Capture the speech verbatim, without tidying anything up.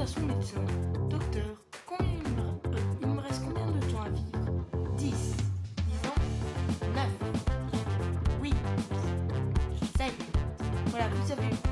à son médecin. Docteur, combien il me, euh, il me reste combien de temps à vivre? Dix. Dix ans? Neuf. Oui. Sept. Voilà, vous savez.